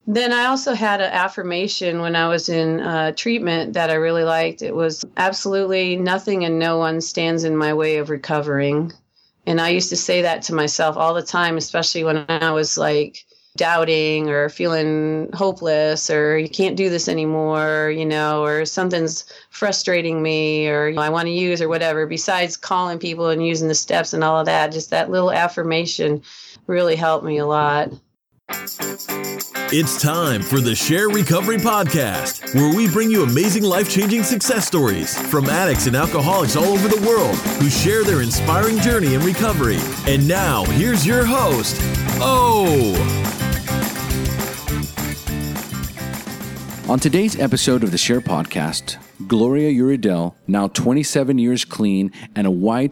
Then I also had an affirmation when I was in treatment that I really liked. It was absolutely nothing and no one stands in my way of recovering. And I used to say that to myself all the time, especially when I was like doubting or feeling hopeless or you can't do this anymore, or something's frustrating me or I want to use or whatever. Besides calling people and using the steps and all of that, just that little affirmation really helped me a lot. It's time for the Share Recovery Podcast, where we bring you amazing life-changing success stories from addicts and alcoholics all over the world who share their inspiring journey in recovery. And now, here's your host, O. On today's episode of the Share Podcast, Gloria Uridel, now 27 years clean and a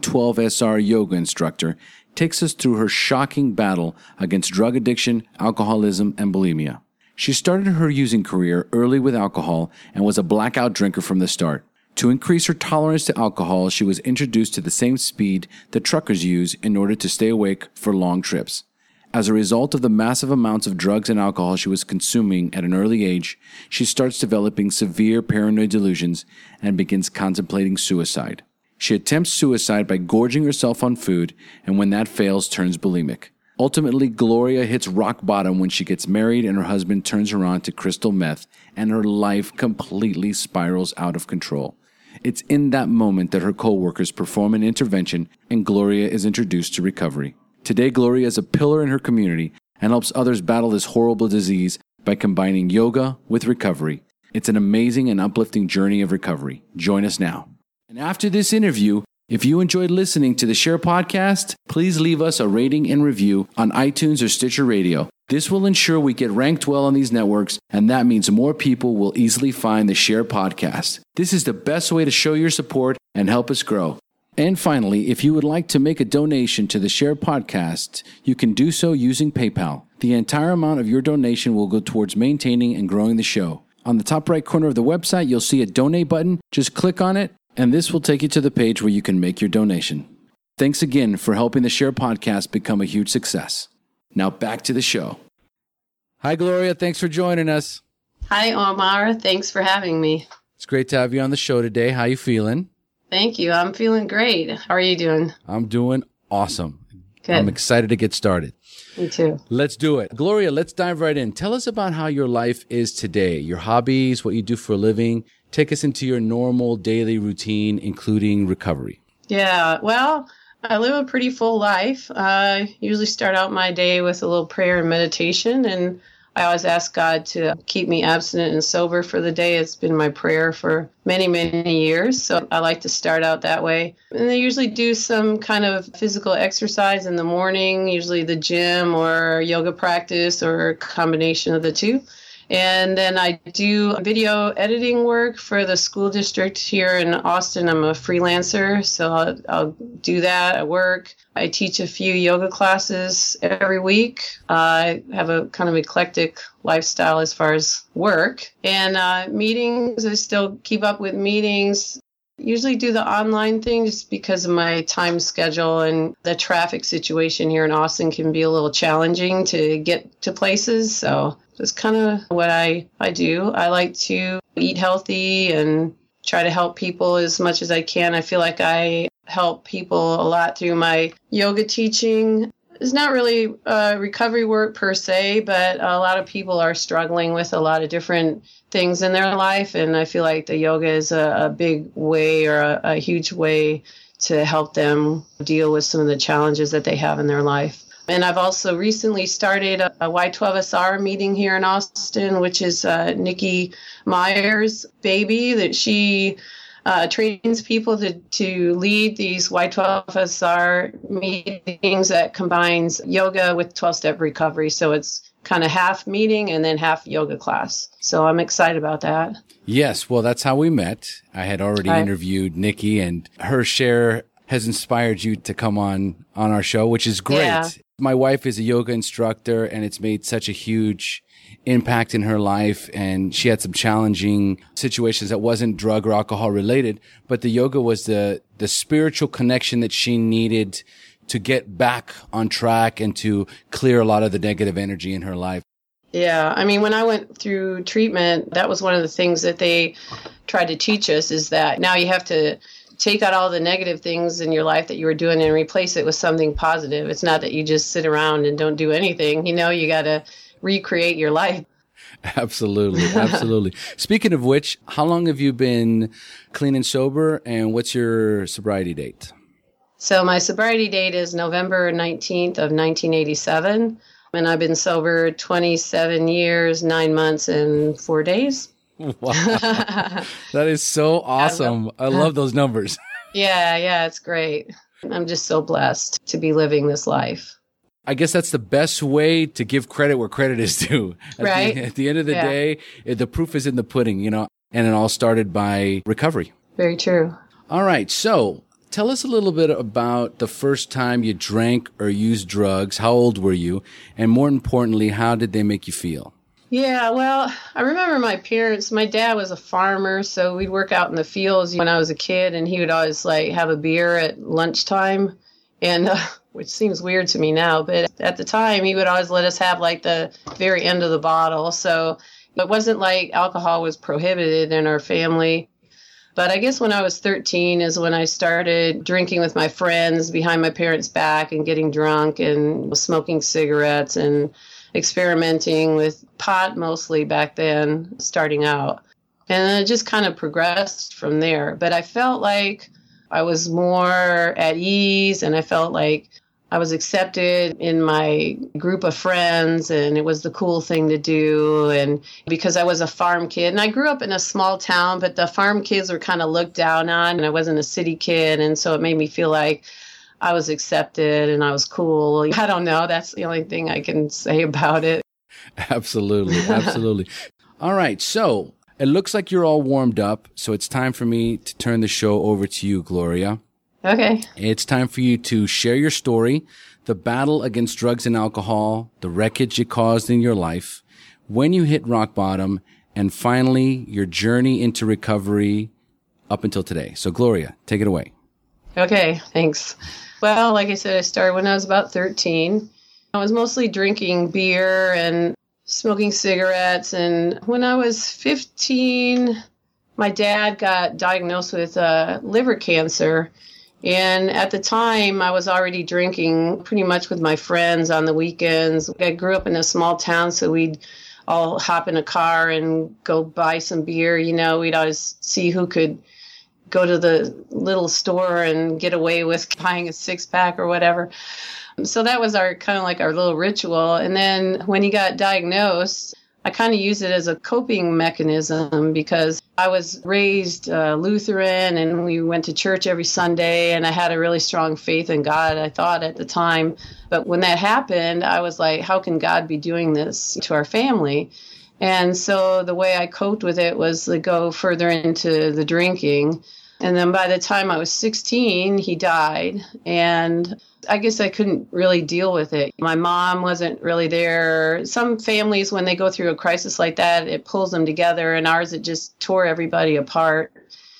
Y12SR yoga instructor, takes us through her shocking battle against drug addiction, alcoholism, and bulimia. She started her using career early with alcohol and was a blackout drinker from the start. To increase her tolerance to alcohol, she was introduced to the same speed that truckers use in order to stay awake for long trips. As a result of the massive amounts of drugs and alcohol she was consuming at an early age, she starts developing severe paranoid delusions and begins contemplating suicide. She attempts suicide by gorging herself on food, and when that fails, turns bulimic. Ultimately, Gloria hits rock bottom when she gets married and her husband turns her on to crystal meth, and her life completely spirals out of control. It's in that moment that her co-workers perform an intervention and Gloria is introduced to recovery. Today, Gloria is a pillar in her community and helps others battle this horrible disease by combining yoga with recovery. It's an amazing and uplifting journey of recovery. Join us now. And after this interview, if you enjoyed listening to the Share Podcast, please leave us a rating and review on iTunes or Stitcher Radio. This will ensure we get ranked well on these networks, and that means more people will easily find the Share Podcast. This is the best way to show your support and help us grow. And finally, if you would like to make a donation to the Share Podcast, you can do so using PayPal. The entire amount of your donation will go towards maintaining and growing the show. On the top right corner of the website, you'll see a donate button. Just click on it, and this will take you to the page where you can make your donation. Thanks again for helping the Share Podcast become a huge success. Now back to the show. Hi, Gloria. Thanks for joining us. Hi, Omar. Thanks for having me. It's great to have you on the show today. How you feeling? Thank you. I'm feeling great. How are you doing? I'm doing awesome. Good. I'm excited to get started. Me too. Let's do it. Gloria, let's dive right in. Tell us about how your life is today, your hobbies, what you do for a living. Take us into your normal daily routine, including recovery. Yeah, well, I live a pretty full life. I usually start out my day with a little prayer and meditation, and I always ask God to keep me abstinent and sober for the day. It's been my prayer for many, many years, so I like to start out that way. And I usually do some kind of physical exercise in the morning, usually the gym or yoga practice or a combination of the two. And then I do video editing work for the school district here in Austin. I'm a freelancer, so I'll do that at work. I teach a few yoga classes every week. I have a kind of eclectic lifestyle as far as work. And meetings, I still keep up with meetings. Usually do the online thing just because of my time schedule, and the traffic situation here in Austin can be a little challenging to get to places. So that's kind of what I do. I like to eat healthy and try to help people as much as I can. I feel like I help people a lot through my yoga teaching. It's not really recovery work per se, but a lot of people are struggling with a lot of different things in their life. And I feel like the yoga is a big way or a huge way to help them deal with some of the challenges that they have in their life. And I've also recently started a Y12SR meeting here in Austin, which is Nikki Meyer's baby, that she trains people to lead these Y12SR meetings that combines yoga with 12-step recovery. So it's kind of half meeting and then half yoga class. So I'm excited about that. Yes, well, that's how we met. I had already interviewed Nikki, and her share has inspired you to come on our show, which is great. Yeah. My wife is a yoga instructor, and it's made such a huge impact in her life. And she had some challenging situations that wasn't drug or alcohol related, but the yoga was the spiritual connection that she needed to get back on track and to clear a lot of the negative energy in her life. Yeah. I mean, when I went through treatment, that was one of the things that they tried to teach us is that now you have to take out all the negative things in your life that you were doing and replace it with something positive. It's not that you just sit around and don't do anything. You got to recreate your life. Absolutely. Absolutely. Speaking of which, how long have you been clean and sober, and what's your sobriety date? So my sobriety date is November 19th of 1987. And I've been sober 27 years, 9 months, and 4 days. Wow. That is so awesome. I love those numbers. Yeah, it's great. I'm just so blessed to be living this life. I guess that's the best way to give credit where credit is due. At the end of the day, the proof is in the pudding, and it all started by recovery. Very true. All right. So tell us a little bit about the first time you drank or used drugs. How old were you? And more importantly, how did they make you feel? Yeah, well, I remember my dad was a farmer, so we'd work out in the fields when I was a kid, and he would always have a beer at lunchtime, and which seems weird to me now, but at the time he would always let us have the very end of the bottle. So it wasn't like alcohol was prohibited in our family. But I guess when I was 13 is when I started drinking with my friends behind my parents' back and getting drunk and smoking cigarettes and experimenting with pot mostly back then, starting out. And then it just kind of progressed from there. But I felt like I was more at ease, and I felt like I was accepted in my group of friends, and it was the cool thing to do. And because I was a farm kid, and I grew up in a small town, but the farm kids were kind of looked down on, and I wasn't a city kid. And so it made me feel like I was accepted and I was cool. I don't know. That's the only thing I can say about it. Absolutely. Absolutely. All right. So it looks like you're all warmed up. So it's time for me to turn the show over to you, Gloria. Okay. It's time for you to share your story, the battle against drugs and alcohol, the wreckage it caused in your life, when you hit rock bottom, and finally your journey into recovery up until today. So Gloria, take it away. Okay, thanks. Well, like I said, I started when I was about 13. I was mostly drinking beer and smoking cigarettes. And when I was 15, my dad got diagnosed with liver cancer. And at the time, I was already drinking pretty much with my friends on the weekends. I grew up in a small town, so we'd all hop in a car and go buy some beer. We'd always see who could go to the little store and get away with buying a 6-pack or whatever. So that was our kind of like our little ritual. And then when he got diagnosed, I kind of used it as a coping mechanism because I was raised Lutheran and we went to church every Sunday, and I had a really strong faith in God, I thought at the time. But when that happened, I was like, how can God be doing this to our family? And so the way I coped with it was to go further into the drinking. And then by the time I was 16, he died. And I guess I couldn't really deal with it. My mom wasn't really there. Some families, when they go through a crisis like that, it pulls them together. And ours, it just tore everybody apart.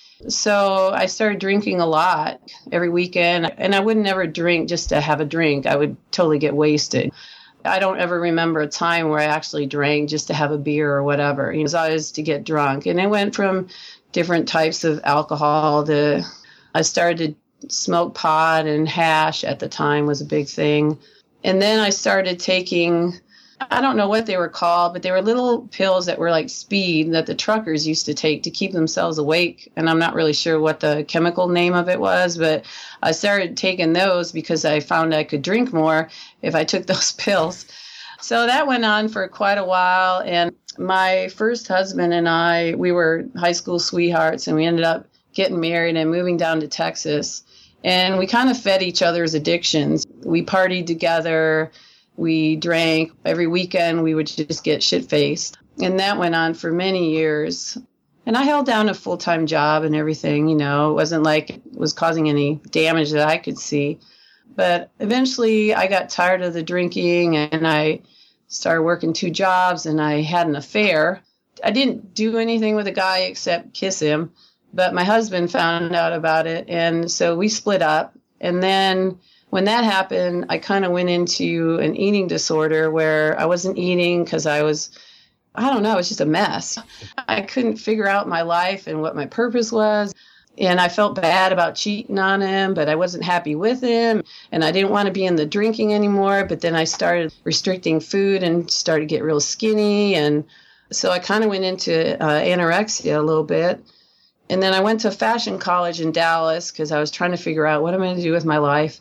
So I started drinking a lot every weekend. And I would never drink just to have a drink. I would totally get wasted. I don't ever remember a time where I actually drank just to have a beer or whatever. It was always to get drunk. And it went from different types of alcohol. I started to smoke pot, and hash at the time was a big thing. And then I started taking, I don't know what they were called, but they were little pills that were like speed that the truckers used to take to keep themselves awake. And I'm not really sure what the chemical name of it was, but I started taking those because I found I could drink more if I took those pills. So that went on for quite a while. And my first husband and I, we were high school sweethearts, and we ended up getting married and moving down to Texas. And we kind of fed each other's addictions. We partied together. We drank. Every weekend, we would just get shit-faced. And that went on for many years. And I held down a full-time job and everything, It wasn't like it was causing any damage that I could see. But eventually, I got tired of the drinking, and I started working 2 jobs, and I had an affair. I didn't do anything with a guy except kiss him, but my husband found out about it, and so we split up. And then when that happened, I kind of went into an eating disorder where I wasn't eating because I was just a mess. I couldn't figure out my life and what my purpose was. And I felt bad about cheating on him, but I wasn't happy with him. And I didn't want to be in the drinking anymore. But then I started restricting food and started to get real skinny. And so I kind of went into anorexia a little bit. And then I went to fashion college in Dallas because I was trying to figure out what I'm going to do with my life.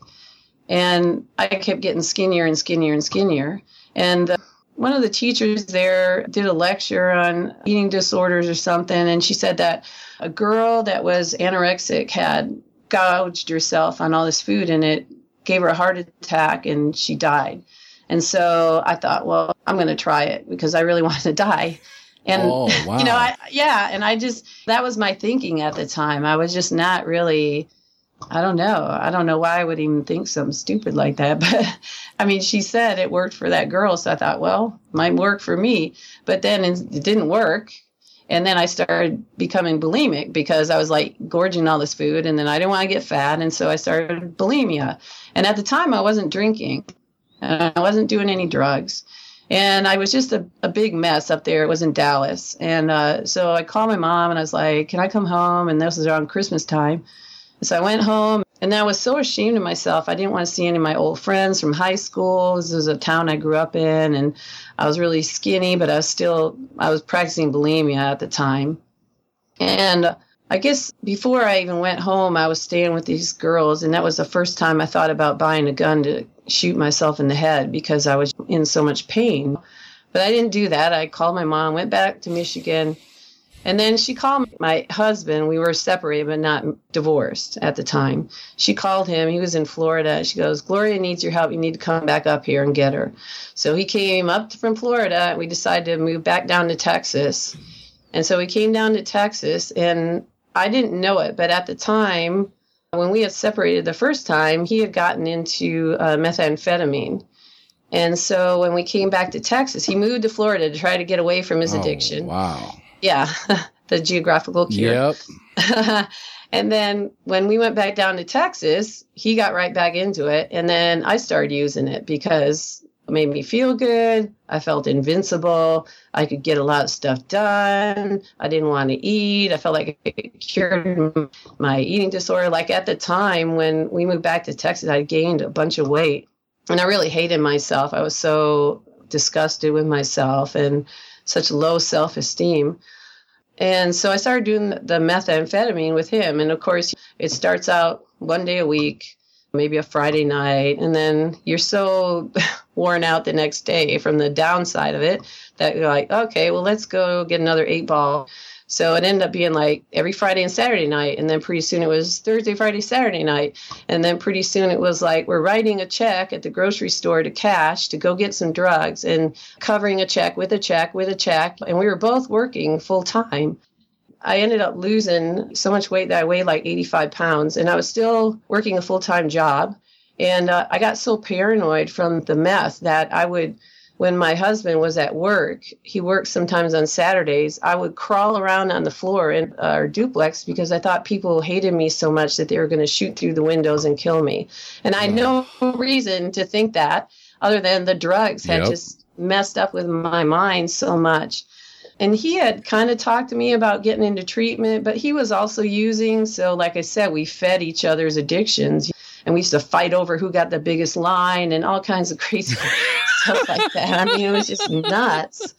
And I kept getting skinnier and skinnier and skinnier. And one of the teachers there did a lecture on eating disorders or something. And she said that a girl that was anorexic had gouged herself on all this food and it gave her a heart attack and she died. And so I thought, well, I'm going to try it because I really wanted to die. And, oh, wow. And that was my thinking at the time. I was just not really, I don't know why I would even think something stupid like that. But I mean, she said it worked for that girl. So I thought, well, it might work for me. But then it didn't work. And then I started becoming bulimic because I was like gorging all this food and then I didn't want to get fat. And so I started bulimia. And at the time I wasn't drinking and I wasn't doing any drugs. And I was just a big mess up there. It was in Dallas. And so I called my mom and I was like, can I come home? And this was around Christmas time. So I went home and I was so ashamed of myself. I didn't want to see any of my old friends from high school. This was a town I grew up in and I was really skinny, but I was practicing bulimia at the time. And I guess before I even went home, I was staying with these girls. And that was the first time I thought about buying a gun to shoot myself in the head because I was in so much pain. But I didn't do that. I called my mom, went back to Michigan. And then she called my husband. We were separated, but not divorced at the time. She called him. He was in Florida. She goes, Gloria needs your help. You need to come back up here and get her. So he came up from Florida. We decided to move back down to Texas. And so we came down to Texas, and I didn't know it. But at the time, when we had separated the first time, he had gotten into methamphetamine. And so when we came back to Texas, he moved to Florida to try to get away from his addiction. Wow. Yeah, the geographical cure. Yep. And then when we went back down to Texas, he got right back into it. And then I started using it because it made me feel good. I felt invincible. I could get a lot of stuff done. I didn't want to eat. I felt like it cured my eating disorder. Like at the time when we moved back to Texas, I gained a bunch of weight. And I really hated myself. I was so disgusted with myself and such low self-esteem. And so I started doing the methamphetamine with him. And of course, it starts out one day a week, maybe a Friday night. And then you're so worn out the next day from the downside of it that you're like, okay, well, let's go get another 8-ball. So it ended up being like every Friday and Saturday night. And then pretty soon it was Thursday, Friday, Saturday night. And then pretty soon it was like we're writing a check at the grocery store to cash to go get some drugs and covering a check with a check with a check. And we were both working full time. I ended up losing so much weight that I weighed like 85 pounds. And I was still working a full-time job. And I got so paranoid from the meth that I would, when my husband was at work, he worked sometimes on Saturdays, I would crawl around on the floor in our duplex because I thought people hated me so much that they were going to shoot through the windows and kill me. And I had no reason to think that other than the drugs had just messed up with my mind so much. And he had kind of talked to me about getting into treatment, but he was also using. So like I said, we fed each other's addictions. And we used to fight over who got the biggest line and all kinds of crazy stuff like that. I mean, it was just nuts.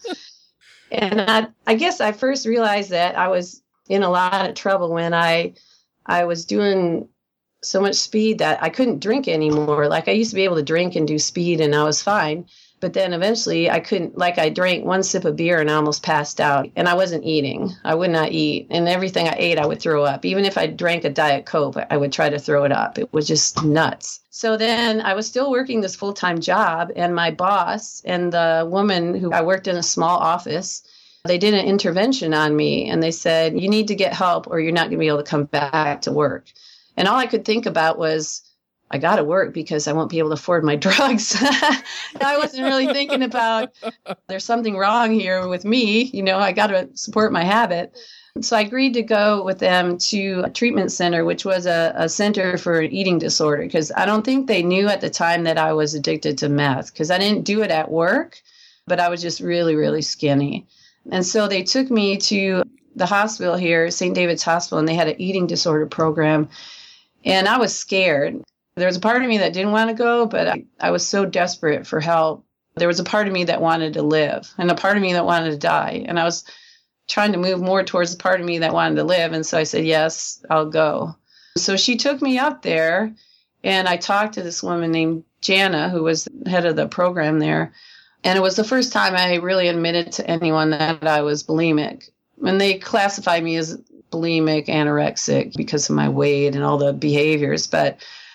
And I guess I first realized that I was in a lot of trouble when I was doing so much speed that I couldn't drink anymore. Like I used to be able to drink and do speed and I was fine. But then eventually I couldn't, like I drank one sip of beer and I almost passed out and I wasn't eating. I would not eat. And everything I ate, I would throw up. Even if I drank a Diet Coke, I would try to throw it up. It was just nuts. So then I was still working this full-time job and my boss and the woman who I worked in a small office, they did an intervention on me and they said, you need to get help or you're not going to be able to come back to work. And all I could think about was, I got to work because I won't be able to afford my drugs. I wasn't really thinking about there's something wrong here with me. I got to support my habit. So I agreed to go with them to a treatment center, which was a center for an eating disorder, because I don't think they knew at the time that I was addicted to meth, because I didn't do it at work, but I was just really, really skinny. And so they took me to the hospital here, St. David's Hospital, and they had an eating disorder program. And I was scared. There was a part of me that didn't want to go, but I was so desperate for help. There was a part of me that wanted to live and a part of me that wanted to die. And I was trying to move more towards the part of me that wanted to live. And so I said, yes, I'll go. So she took me up there, and I talked to this woman named Jana, who was the head of the program there. And it was the first time I really admitted to anyone that I was bulimic. And they classified me as bulimic, anorexic because of my weight and all the behaviors. But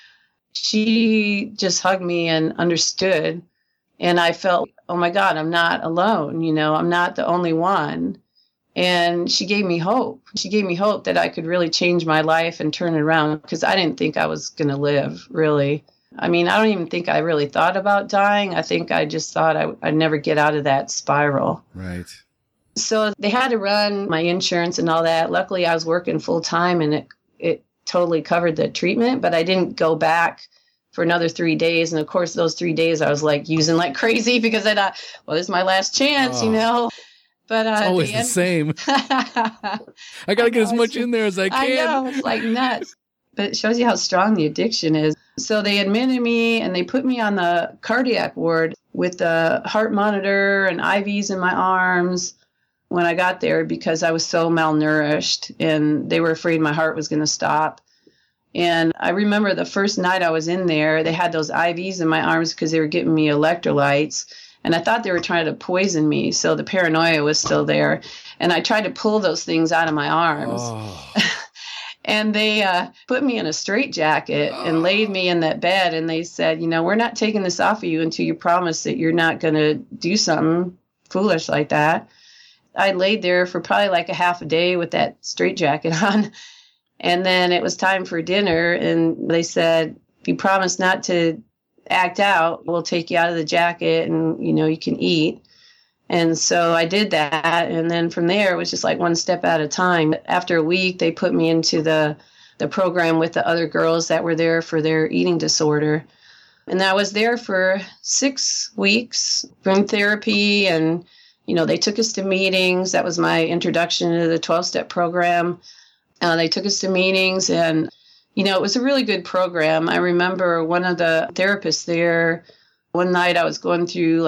she just hugged me and understood. And I felt, oh my God, I'm not alone. I'm not the only one. And she gave me hope. She gave me hope that I could really change my life and turn it around, because I didn't think I was going to live, really. I mean, I don't even think I really thought about dying. I think I just thought I'd never get out of that spiral. Right. So they had to run my insurance and all that. Luckily, I was working full time, and it totally covered the treatment, but I didn't go back for another 3 days. And of course, those 3 days I was using like crazy, because I thought, well, this is my last chance, But it's always the same. I got to get as much in there as I can. I know, it's like nuts. But it shows you how strong the addiction is. So they admitted me, and they put me on the cardiac ward with the heart monitor and IVs in my arms when I got there, because I was so malnourished, and they were afraid my heart was going to stop. And I remember the first night I was in there, they had those IVs in my arms because they were giving me electrolytes. And I thought they were trying to poison me. So the paranoia was still there. And I tried to pull those things out of my arms. Oh. And they put me in a straitjacket and laid me in that bed. And they said, we're not taking this off of you until you promise that you're not going to do something foolish like that. I laid there for probably like a half a day with that straitjacket on. And then it was time for dinner. And they said, if you promise not to act out, we'll take you out of the jacket, and you can eat. And so I did that, and then from there it was just like one step at a time. After a week, they put me into the program with the other girls that were there for their eating disorder, and I was there for 6 weeks from therapy. And they took us to meetings. That was my introduction to the 12-step program. They took us to meetings, and it was a really good program. I remember one of the therapists there, one night I was going through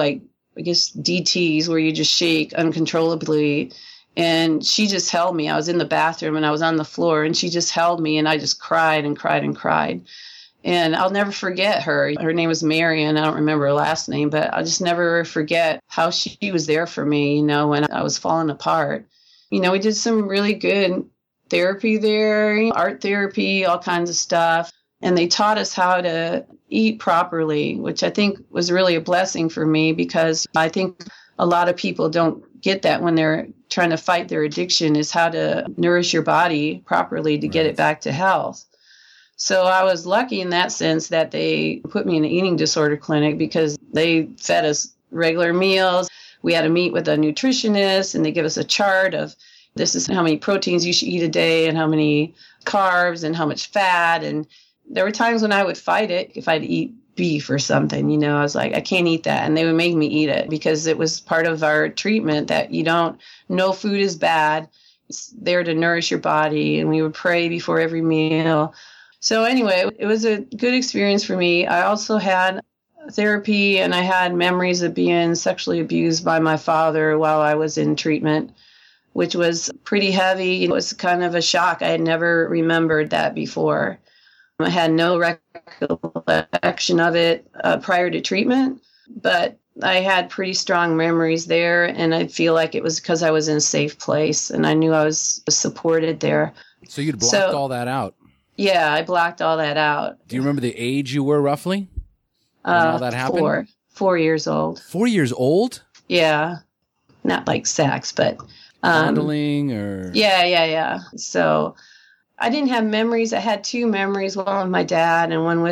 DTs where you just shake uncontrollably. And she just held me. I was in the bathroom and I was on the floor, and she just held me, and I just cried and cried and cried. And I'll never forget her. Her name was Marion. I don't remember her last name, but I'll just never forget how she was there for me, when I was falling apart. We did some really good therapy there, art therapy, all kinds of stuff. And they taught us how to eat properly, which I think was really a blessing for me, because I think a lot of people don't get that when they're trying to fight their addiction, is how to nourish your body properly to get it back to health. So I was lucky in that sense that they put me in an eating disorder clinic, because they fed us regular meals. We had to meet with a nutritionist, and they give us a chart of, this is how many proteins you should eat a day, and how many carbs, and how much fat. And there were times when I would fight it if I'd eat beef or something. I was like, I can't eat that. And they would make me eat it, because it was part of our treatment that no food is bad. It's there to nourish your body. And we would pray before every meal. So anyway, it was a good experience for me. I also had therapy, and I had memories of being sexually abused by my father while I was in treatment, which was pretty heavy. It was kind of a shock. I had never remembered that before. I had no recollection of it prior to treatment, but I had pretty strong memories there, and I feel like it was because I was in a safe place, and I knew I was supported there. So you'd blocked all that out? Yeah, I blocked all that out. Do you remember the age you were roughly when all that happened? 4 years old. 4 years old? Yeah. Not like sex, but... Fondling or... Yeah. So I didn't have memories. I had 2 memories, one with my dad and one with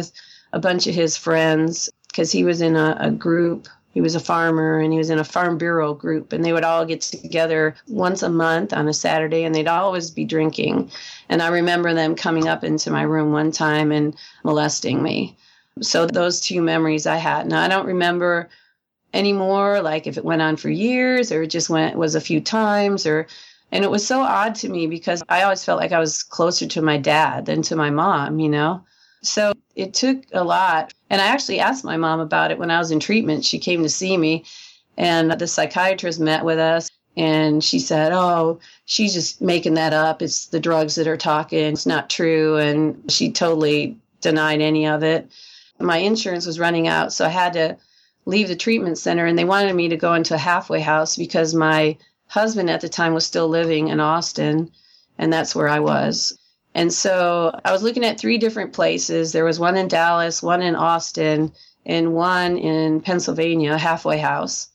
a bunch of his friends, because he was in a group. He was a farmer, and he was in a Farm Bureau group, and they would all get together once a month on a Saturday, and they'd always be drinking. And I remember them coming up into my room one time and molesting me. So those two memories I had. Now, I don't remember anymore, like if it went on for years or it just was a few times, and it was so odd to me because I always felt like I was closer to my dad than to my mom, you know? So it took a lot. And I actually asked my mom about it when I was in treatment. She came to see me, and the psychiatrist met with us, and she said, "Oh, she's just making that up. It's the drugs that are talking. It's not true." And she totally denied any of it. My insurance was running out, so I had to leave the treatment center, and they wanted me to go into a halfway house because my husband at the time was still living in Austin, and that's where I was. And so I was looking at 3 different places. There was one in Dallas, one in Austin, and one in Pennsylvania, a halfway house.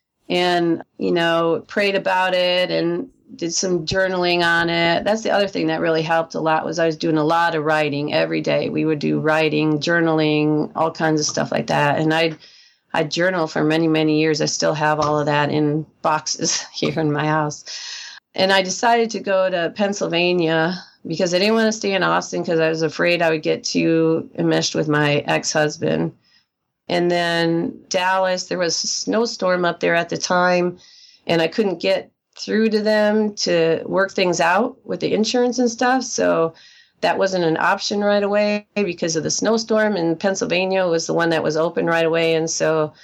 And, you know, prayed about it and did some journaling on it. That's the other thing that really helped a lot, was I was doing a lot of writing every day. We would do writing, journaling, all kinds of stuff like that. And I'd journal for many, many years. I still have all of that in boxes here in my house. And I decided to go to Pennsylvania because I didn't want to stay in Austin because I was afraid I would get too enmeshed with my ex-husband. And then Dallas, there was a snowstorm up there at the time, and I couldn't get through to them to work things out with the insurance and stuff. So that wasn't an option right away because of the snowstorm, and Pennsylvania was the one that was open right away. And so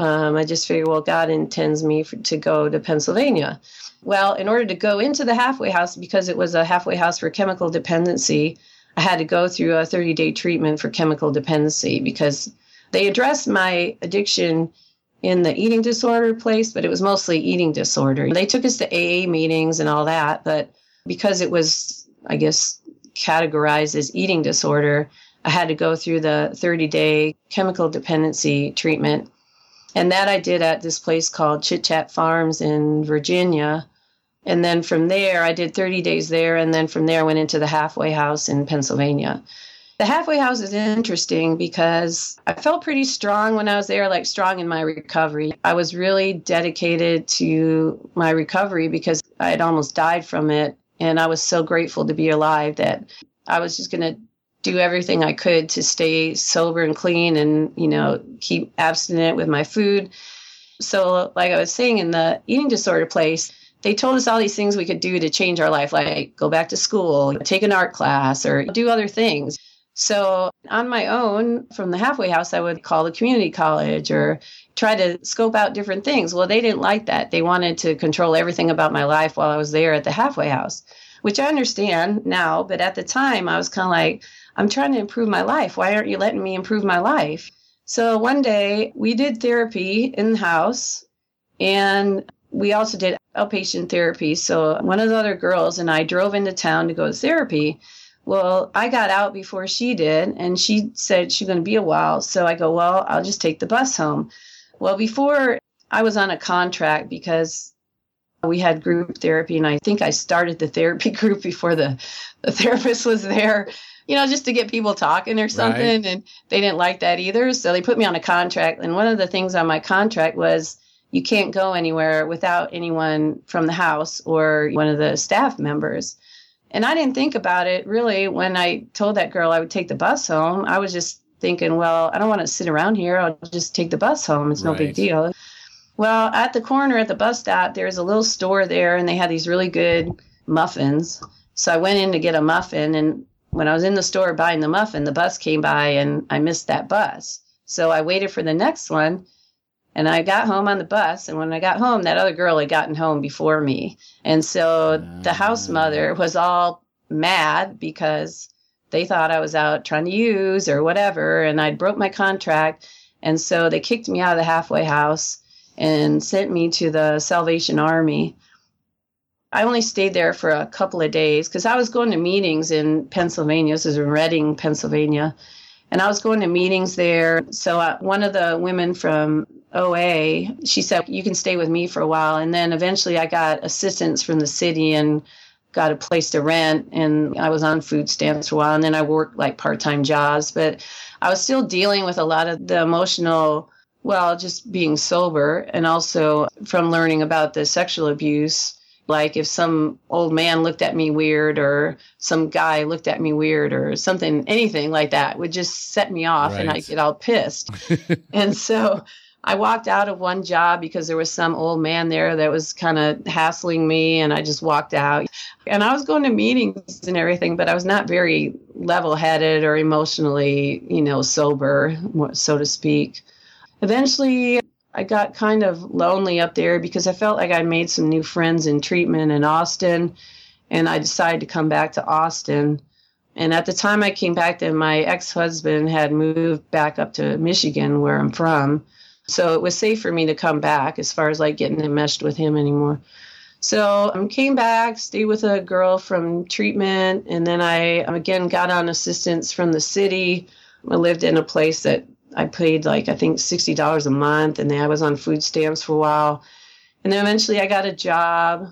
I just figured, well, God intends me to go to Pennsylvania. Well, in order to go into the halfway house, because it was a halfway house for chemical dependency, I had to go through a 30-day treatment for chemical dependency because they addressed my addiction in the eating disorder place, but it was mostly eating disorder. They took us to AA meetings and all that, but because it was, I guess, categorized as eating disorder, I had to go through the 30-day chemical dependency treatment. And that I did at this place called Chit Chat Farms in Virginia. And then from there, I did 30 days there. And then from there, I went into the halfway house in Pennsylvania. The halfway house is interesting because I felt pretty strong when I was there, like strong in my recovery. I was really dedicated to my recovery because I had almost died from it. And I was so grateful to be alive that I was just going to do everything I could to stay sober and clean and, you know, keep abstinent with my food. So like I was saying, in the eating disorder place, they told us all these things we could do to change our life, like go back to school, take an art class, or do other things. So on my own, from the halfway house, I would call the community college or try to scope out different things. Well, they didn't like that. They wanted to control everything about my life while I was there at the halfway house, which I understand now. But at the time, I was kind of like, I'm trying to improve my life. Why aren't you letting me improve my life? So one day we did therapy in the house, and we also did outpatient therapy. So one of the other girls and I drove into town to go to therapy. Well, I got out before she did, and she said she's going to be a while. So I go, well, I'll just take the bus home. Well, before I was on a contract because we had group therapy, and I think I started the therapy group before the therapist was there, you know, just to get people talking or something. Right. And they didn't like that either. So they put me on a contract. And one of the things on my contract was you can't go anywhere without anyone from the house or one of the staff members. And I didn't think about it really when I told that girl I would take the bus home. I was just thinking, well, I don't want to sit around here. I'll just take the bus home. It's no big deal. Well, at the corner at the bus stop, there's a little store there, and they had these really good muffins. So I went in to get a muffin, and when I was in the store buying the muffin, the bus came by, and I missed that bus. So I waited for the next one, and I got home on the bus. And when I got home, that other girl had gotten home before me. And so the house mother was all mad because they thought I was out trying to use or whatever, and I'd broke my contract. And so they kicked me out of the halfway house and sent me to the Salvation Army. I only stayed there for a couple of days because I was going to meetings in Pennsylvania. This is in Reading, Pennsylvania. And I was going to meetings there. So one of the women from OA, she said, you can stay with me for a while. And then eventually I got assistance from the city and got a place to rent, and I was on food stamps for a while, and then I worked like part-time jobs, but I was still dealing with a lot of the emotional, well, just being sober, and also from learning about the sexual abuse. Like if some old man looked at me weird, or some guy looked at me weird, or something, anything like that would just set me off, right. And I'd get all pissed. And so I walked out of one job because there was some old man there that was kind of hassling me, and I just walked out. And I was going to meetings and everything, but I was not very level-headed or emotionally, sober, so to speak. Eventually, I got kind of lonely up there because I felt like I made some new friends in treatment in Austin, and I decided to come back to Austin. And at the time I came back, then my ex-husband had moved back up to Michigan, where I'm from. So it was safe for me to come back as far as like getting enmeshed with him anymore. So I came back, stayed with a girl from treatment, and then I again got on assistance from the city. I lived in a place that I paid like, I think $60 a month, and then I was on food stamps for a while. And then eventually I got a job,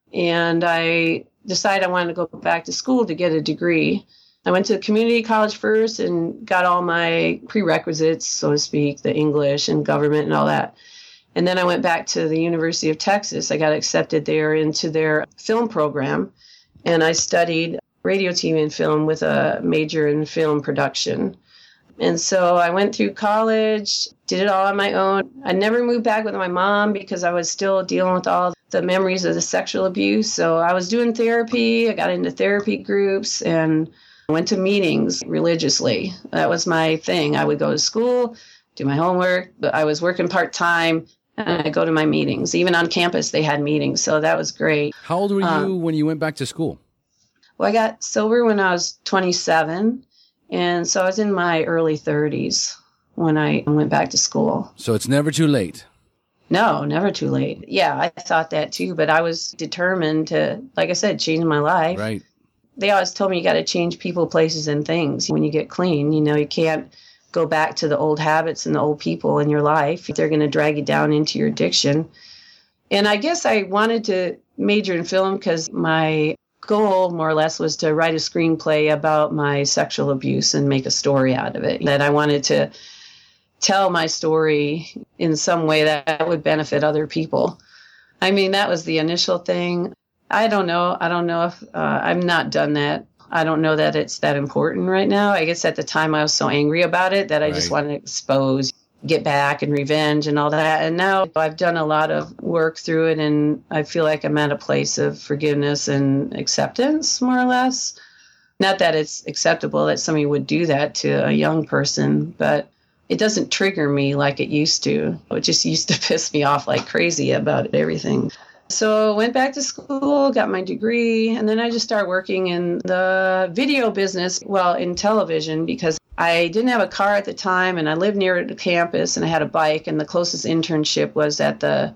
and I decided I wanted to go back to school to get a degree. I went to community college first and got all my prerequisites, so to speak, the English and government and all that. And then I went back to the University of Texas. I got accepted there into their film program, and I studied radio, TV, and film with a major in film production. And so I went through college, did it all on my own. I never moved back with my mom because I was still dealing with all the memories of the sexual abuse. So I was doing therapy. I got into therapy groups and went to meetings religiously. That was my thing. I would go to school, do my homework, but I was working part-time, and I'd go to my meetings. Even on campus, they had meetings, so that was great. How old were you when you went back to school? Well, I got sober when I was 27. And so I was in my early 30s when I went back to school. So it's never too late. No, never too late. Yeah, I thought that too, but I was determined to, like I said, change my life. Right. They always told me you got to change people, places, and things when you get clean. You can't go back to the old habits and the old people in your life. They're going to drag you down into your addiction. And I guess I wanted to major in film because my goal, more or less, was to write a screenplay about my sexual abuse and make a story out of it. That I wanted to tell my story in some way that would benefit other people. I mean, that was the initial thing. I don't know if I've not done that. I don't know that it's that important right now. I guess at the time I was so angry about it that I just wanted to expose, get back, and revenge and all that. And now I've done a lot of work through it, and I feel like I'm at a place of forgiveness and acceptance, more or less. Not that it's acceptable that somebody would do that to a young person, but it doesn't trigger me like it used to. It just used to piss me off like crazy about everything. So I went back to school, got my degree, and then I just started working in the video business, in television, because I didn't have a car at the time, and I lived near the campus, and I had a bike, and the closest internship was at the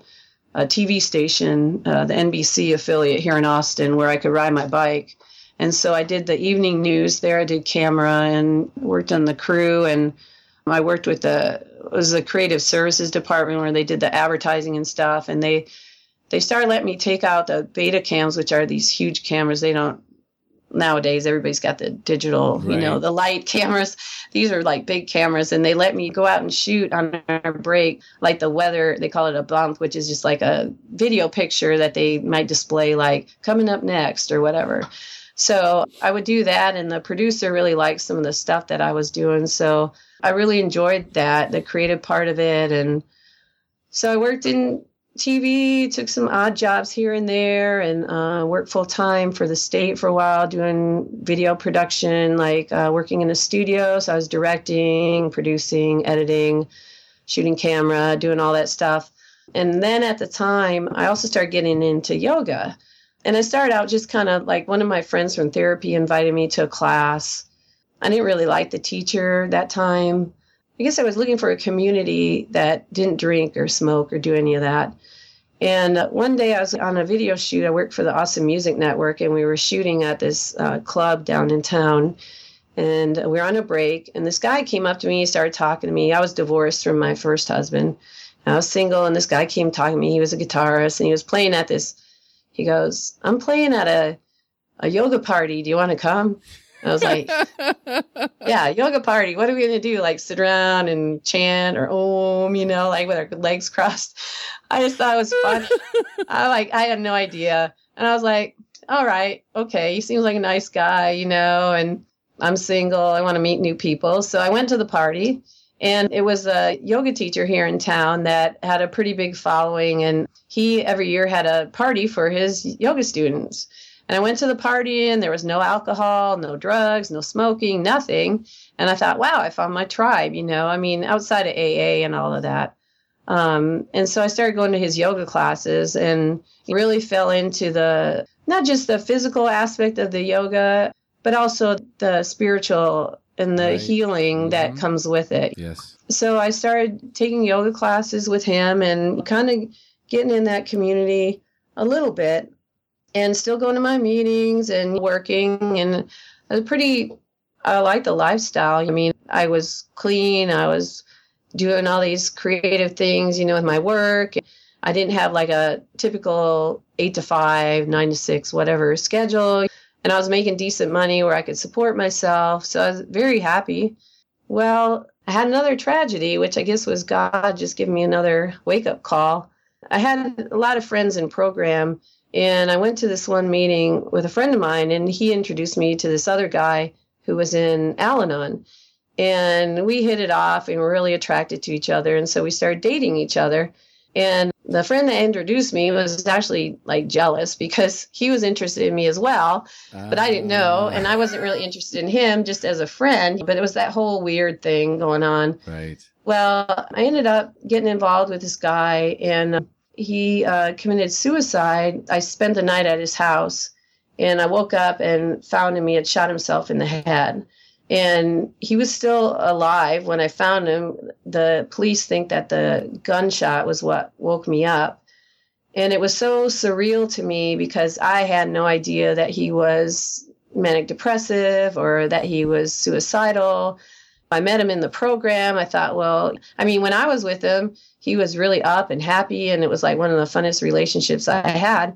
TV station, the NBC affiliate here in Austin, where I could ride my bike. And so I did the evening news there. I did camera and worked on the crew, and I worked with it was the creative services department where they did the advertising and stuff, and they started letting me take out the beta cams, which are these huge cameras. They don't, nowadays, everybody's got the digital, right. The light cameras. These are like big cameras, and they let me go out and shoot on our break, like the weather. They call it a bump, which is just like a video picture that they might display, like coming up next or whatever. So I would do that, and the producer really liked some of the stuff that I was doing. So I really enjoyed that, the creative part of it. And so I worked in TV, took some odd jobs here and there, and worked full time for the state for a while doing video production, like working in a studio. So I was directing, producing, editing, shooting camera, doing all that stuff. And then at the time, I also started getting into yoga. And I started out just kind of like one of my friends from therapy invited me to a class. I didn't really like the teacher that time. I guess I was looking for a community that didn't drink or smoke or do any of that. And one day I was on a video shoot. I worked for the Awesome Music Network, and we were shooting at this club down in town. And we were on a break, and this guy came up to me. He started talking to me. I was divorced from my first husband. I was single, and this guy came talking to me. He was a guitarist, and he was playing at this. He goes, I'm playing at a a yoga party. Do you want to come? And I was like, yeah, yoga party. What are we going to do? Like sit around and chant or Om, like with our legs crossed. I just thought it was funny. I had no idea. And I was like, all right, okay. He seems like a nice guy, and I'm single. I want to meet new people. So I went to the party, and it was a yoga teacher here in town that had a pretty big following. And he every year had a party for his yoga students. And I went to the party, and there was no alcohol, no drugs, no smoking, nothing. And I thought, wow, I found my tribe, outside of AA and all of that. And so I started going to his yoga classes and really fell into not just the physical aspect of the yoga, but also the spiritual and the healing that comes with it. Yes. So I started taking yoga classes with him and kind of getting in that community a little bit. And still going to my meetings and working. And I like the lifestyle. I was clean. I was doing all these creative things, with my work. I didn't have like a typical 8 to 5, 9 to 6, whatever schedule. And I was making decent money where I could support myself. So I was very happy. Well, I had another tragedy, which I guess was God just giving me another wake-up call. I had a lot of friends in program. And I went to this one meeting with a friend of mine, and he introduced me to this other guy who was in Al-Anon. And we hit it off and were really attracted to each other. And so we started dating each other. And the friend that introduced me was actually like jealous because he was interested in me as well. But I didn't know. And I wasn't really interested in him just as a friend. But it was that whole weird thing going on. Right. Well, I ended up getting involved with this guy, and he committed suicide. I spent the night at his house, and I woke up and found him. He had shot himself in the head, and he was still alive when I found him. The police think that the gunshot was what woke me up. And it was so surreal to me because I had no idea that he was manic depressive or that he was suicidal. I met him in the program. I thought, when I was with him, he was really up and happy, and it was like one of the funnest relationships I had.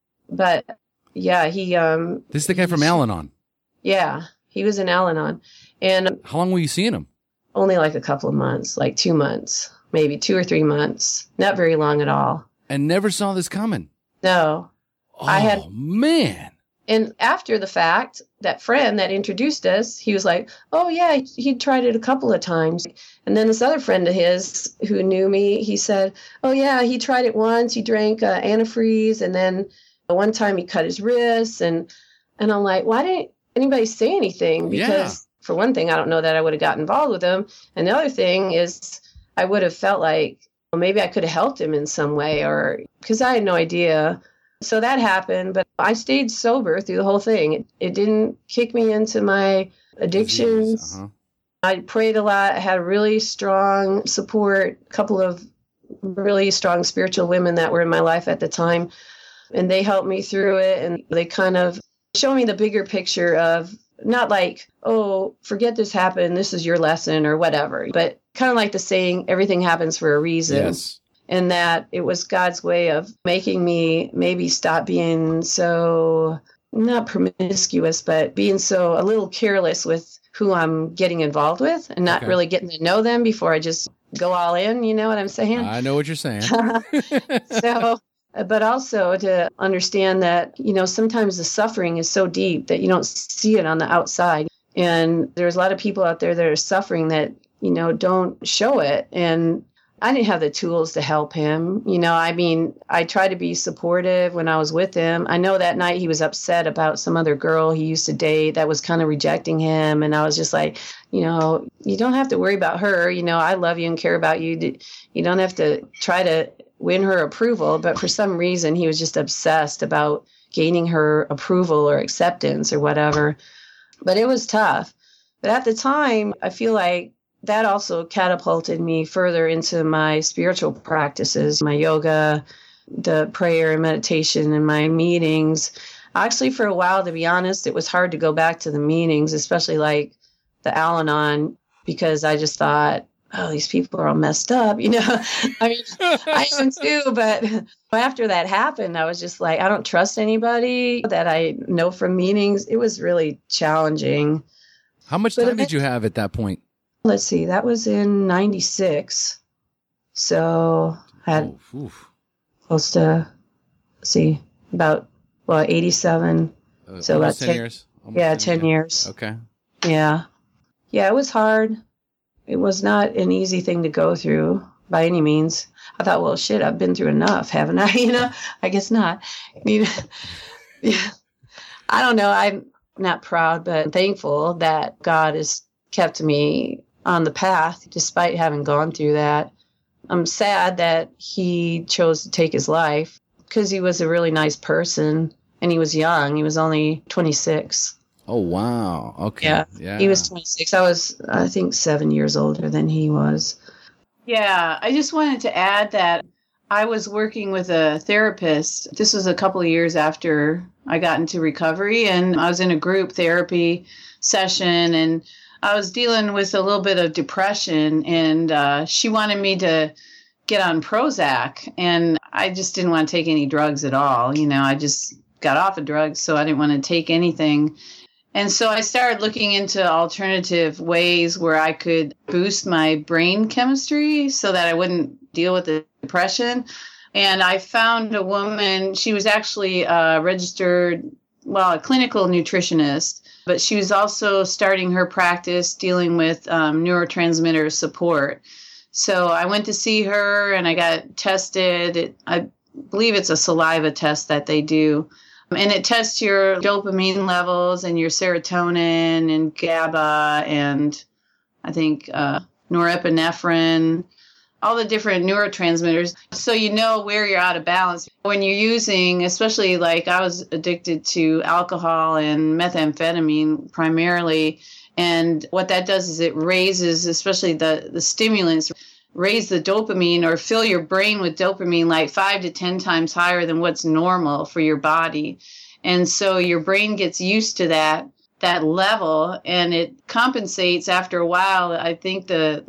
But yeah, this is the guy from Al-Anon. Yeah, he was in Al-Anon. And how long were you seeing him? Only like a couple of months, like 2 months, maybe 2 or 3 months. Not very long at all. And never saw this coming. No. Oh, man. And after the fact, that friend that introduced us, he was like, oh, yeah, he tried it a couple of times. And then this other friend of his who knew me, he said, oh, yeah, he tried it once. He drank antifreeze. And then one time he cut his wrists. And I'm like, why didn't anybody say anything? Because for one thing, I don't know that I would have got involved with him. And the other thing is I would have felt like maybe I could have helped him in some way, or because I had no idea. So that happened, but I stayed sober through the whole thing. It didn't kick me into my addictions. I prayed a lot. I had really strong support, a couple of really strong spiritual women that were in my life at the time, and they helped me through it. And they kind of showed me the bigger picture of not like, oh, forget this happened, this is your lesson or whatever, but kind of like the saying, everything happens for a reason. Yes. And that it was God's way of making me maybe stop being so, not promiscuous, but being so a little careless with who I'm getting involved with and not really getting to know them before I just go all in. You know what I'm saying? I know what you're saying. So, but also to understand that, sometimes the suffering is so deep that you don't see it on the outside. And there's a lot of people out there that are suffering that, don't show it. And I didn't have the tools to help him. I tried to be supportive when I was with him. I know that night he was upset about some other girl he used to date that was kind of rejecting him. And I was just like, you don't have to worry about her. I love you and care about you. You don't have to try to win her approval. But for some reason, he was just obsessed about gaining her approval or acceptance or whatever. But it was tough. But at the time, I feel like that also catapulted me further into my spiritual practices, my yoga, the prayer and meditation, and my meetings. Actually, for a while, to be honest, it was hard to go back to the meetings, especially like the Al-Anon, because I just thought, oh, these people are all messed up, I mean, I am too, but after that happened, I was just like, I don't trust anybody that I know from meetings. It was really challenging. How much time did you have at that point? Let's see, that was in 96. So I had close to, about 87. So about 10 years. 10 years. Okay. Yeah. Yeah, it was hard. It was not an easy thing to go through by any means. I thought, well, shit, I've been through enough, haven't I? I guess not. I mean, yeah. I don't know. I'm not proud, but thankful that God has kept me on the path despite having gone through that. I'm sad that he chose to take his life because he was a really nice person and he was young. He was only 26. Oh, wow. Okay. Yeah. He was 26. I was, I think, 7 years older than he was. Yeah. I just wanted to add that I was working with a therapist. This was a couple of years after I got into recovery, and I was in a group therapy session, and I was dealing with a little bit of depression, and she wanted me to get on Prozac, and I just didn't want to take any drugs at all. I just got off of drugs, so I didn't want to take anything. And so I started looking into alternative ways where I could boost my brain chemistry so that I wouldn't deal with the depression. And I found a woman, she was actually a clinical nutritionist, but she was also starting her practice dealing with neurotransmitter support. So I went to see her and I got tested. I believe it's a saliva test that they do. And it tests your dopamine levels and your serotonin and GABA and I think norepinephrine, all the different neurotransmitters. So you know where you're out of balance. When you're using, especially like I was addicted to alcohol and methamphetamine primarily. And what that does is it raises, especially the stimulants, raise the dopamine or fill your brain with dopamine like 5 to 10 times higher than what's normal for your body. And so your brain gets used to that level and it compensates after a while. I think the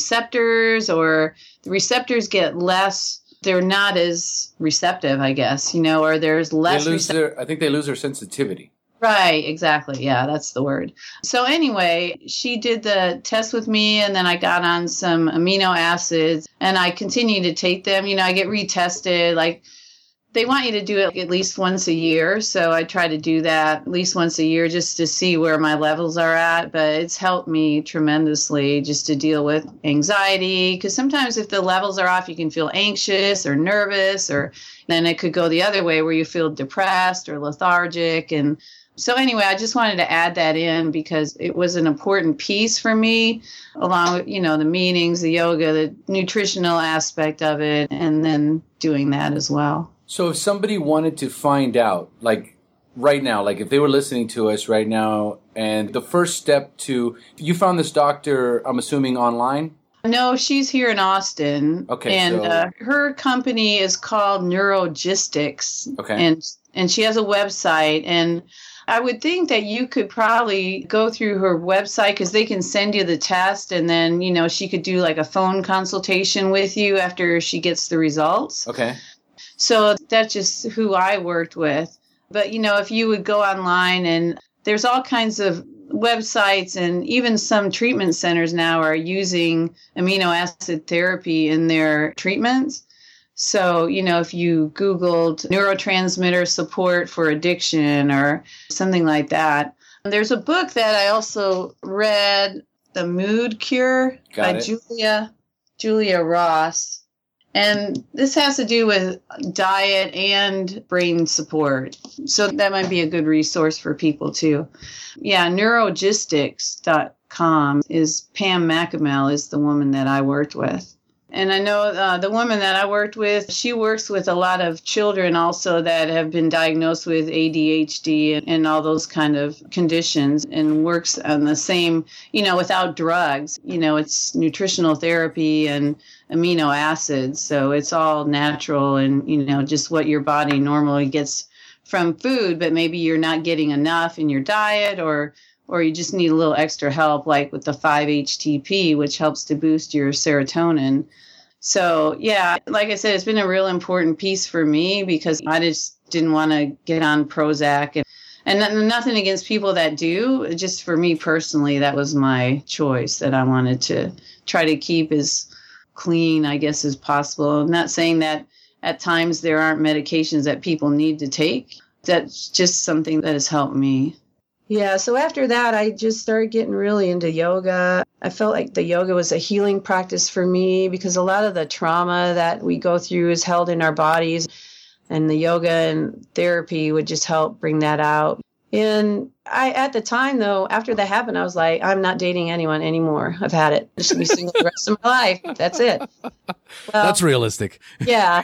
receptors get less, they're not as receptive, I guess, or there's less. I think they lose their sensitivity. Right, exactly. Yeah, that's the word. So anyway, she did the test with me and then I got on some amino acids and I continue to take them. I get retested. Like they want you to do it at least once a year. So I try to do that at least once a year just to see where my levels are at. But it's helped me tremendously just to deal with anxiety. Because sometimes if the levels are off, you can feel anxious or nervous, or then it could go the other way where you feel depressed or lethargic. And so anyway, I just wanted to add that in because it was an important piece for me, along with, the meetings, the yoga, the nutritional aspect of it, and then doing that as well. So if somebody wanted to find out, like right now, like if they were listening to us right now, and the first step you found this doctor, I'm assuming online? No, she's here in Austin. Okay. And her company is called Neurogistics. Okay. And she has a website, and I would think that you could probably go through her website because they can send you the test and then, she could do like a phone consultation with you after she gets the results. Okay. So that's just who I worked with. But, if you would go online and there's all kinds of websites and even some treatment centers now are using amino acid therapy in their treatments. So, if you Googled neurotransmitter support for addiction or something like that. There's a book that I also read, The Mood Cure by Julia Ross. And this has to do with diet and brain support. So that might be a good resource for people too. Yeah, neurogistics.com is Pam McAmel is the woman that I worked with. And I know the woman that I worked with, she works with a lot of children also that have been diagnosed with ADHD and all those kind of conditions and works on the same, without drugs. It's nutritional therapy and amino acids. So it's all natural and, just what your body normally gets from food, but maybe you're not getting enough in your diet or or you just need a little extra help, like with the 5-HTP, which helps to boost your serotonin. So, yeah, like I said, it's been a real important piece for me because I just didn't want to get on Prozac. And nothing against people that do. Just for me personally, that was my choice, that I wanted to try to keep as clean, I guess, as possible. I'm not saying that at times there aren't medications that people need to take. That's just something that has helped me. Yeah, so after that, I just started getting really into yoga. I felt like the yoga was a healing practice for me because a lot of the trauma that we go through is held in our bodies, and the yoga and therapy would just help bring that out. And at the time, though, after that happened, I was like, I'm not dating anyone anymore. I've had it. I should be single the rest of my life. That's it. Well, that's realistic. Yeah.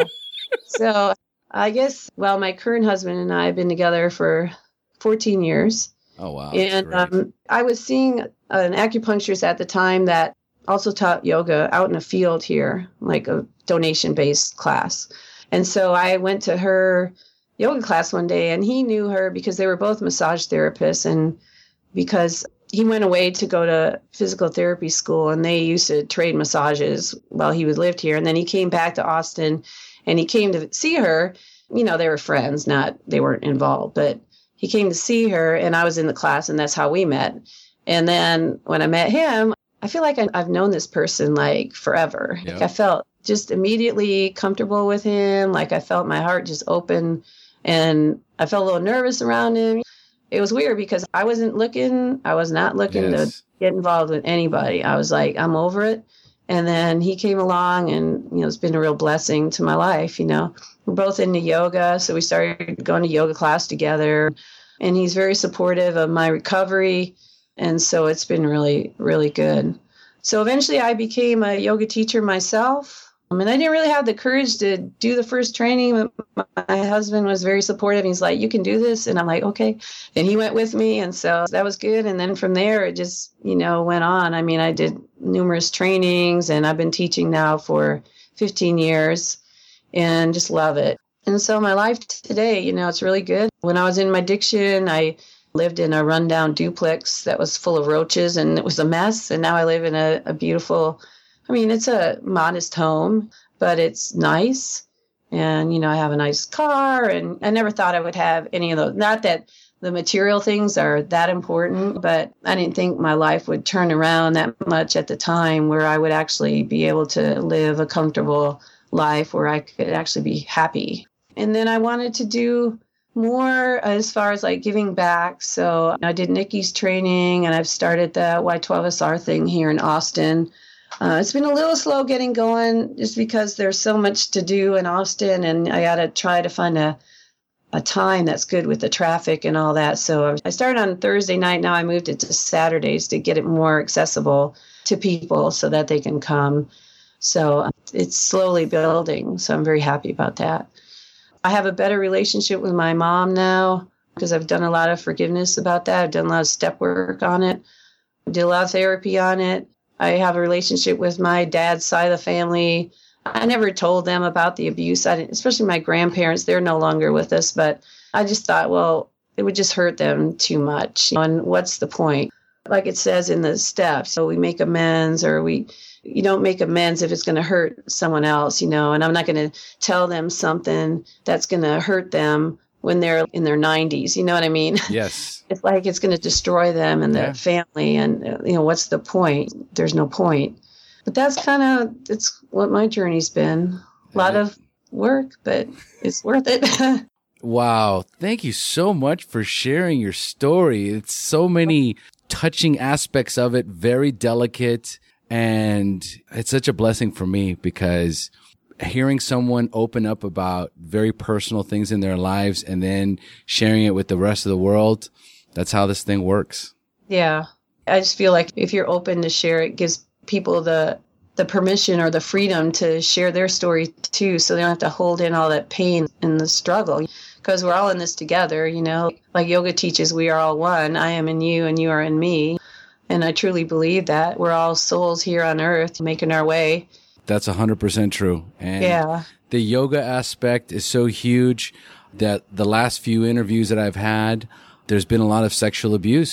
So I guess, my current husband and I have been together for 14 years. Oh, wow. And I was seeing an acupuncturist at the time that also taught yoga out in a field here, like a donation-based class. And so I went to her yoga class one day, and he knew her because they were both massage therapists, and because he went away to go to physical therapy school, and they used to trade massages while he lived here. And then he came back to Austin, and he came to see her. You know, they were friends, they weren't involved, but he came to see her, and I was in the class, and that's how we met. And then when I met him, I feel like I've known this person like forever. Yep. Like I felt just immediately comfortable with him. Like I felt my heart just open, and I felt a little nervous around him. It was weird because I was not looking to get involved with anybody. I was like, I'm over it. And then he came along, and, it's been a real blessing to my life. We're both into yoga, so we started going to yoga class together, and he's very supportive of my recovery. And so it's been really, really good. So eventually I became a yoga teacher myself. And I didn't really have the courage to do the first training, but my husband was very supportive. He's like, you can do this. And I'm like, okay. And he went with me. And so that was good. And then from there, it just, went on. I mean, I did numerous trainings, and I've been teaching now for 15 years and just love it. And so my life today, it's really good. When I was in my addiction, I lived in a rundown duplex that was full of roaches, and it was a mess. And now I live in a beautiful, it's a modest home, but it's nice. And, I have a nice car, and I never thought I would have any of those. Not that the material things are that important, but I didn't think my life would turn around that much at the time where I would actually be able to live a comfortable life where I could actually be happy. And then I wanted to do more as far as like giving back. So I did Nikki's training, and I've started the Y12SR thing here in Austin. It's been a little slow getting going just because there's so much to do in Austin, and I got to try to find a time that's good with the traffic and all that. So I started on Thursday night. Now I moved it to Saturdays to get it more accessible to people so that they can come. So it's slowly building. So I'm very happy about that. I have a better relationship with my mom now because I've done a lot of forgiveness about that. I've done a lot of step work on it. I did a lot of therapy on it. I have a relationship with my dad's side of the family. I never told them about the abuse, especially my grandparents. They're no longer with us, but I just thought, well, it would just hurt them too much. And what's the point? Like it says in the steps, so we make amends, or you don't make amends if it's going to hurt someone else, and I'm not going to tell them something that's going to hurt them when they're in their 90s. You know what I mean? Yes. It's like it's going to destroy them and their family. And, what's the point? There's no point. But that's it's what my journey's been. A lot of work, but it's worth it. Wow. Thank you so much for sharing your story. It's so many touching aspects of it, very delicate. And it's such a blessing for me because hearing someone open up about very personal things in their lives and then sharing it with the rest of the world, that's how this thing works. Yeah. I just feel like if you're open to share, it gives people the permission or the freedom to share their story too, so they don't have to hold in all that pain and the struggle, because we're all in this together. Like yoga teaches, we are all one. I am in you and you are in me. And I truly believe that we're all souls here on earth making our way. That's 100% true. And the yoga aspect is so huge that the last few interviews that I've had, there's been a lot of sexual abuse